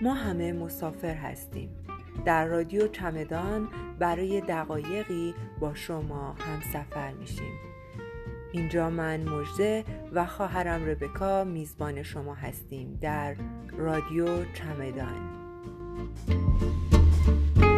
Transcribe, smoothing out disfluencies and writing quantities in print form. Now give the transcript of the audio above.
ما همه مسافر هستیم. در رادیو چمدان برای دقایقی با شما همسفر میشیم. اینجا من مژده و خواهرم ربکا میزبان شما هستیم در رادیو چمدان.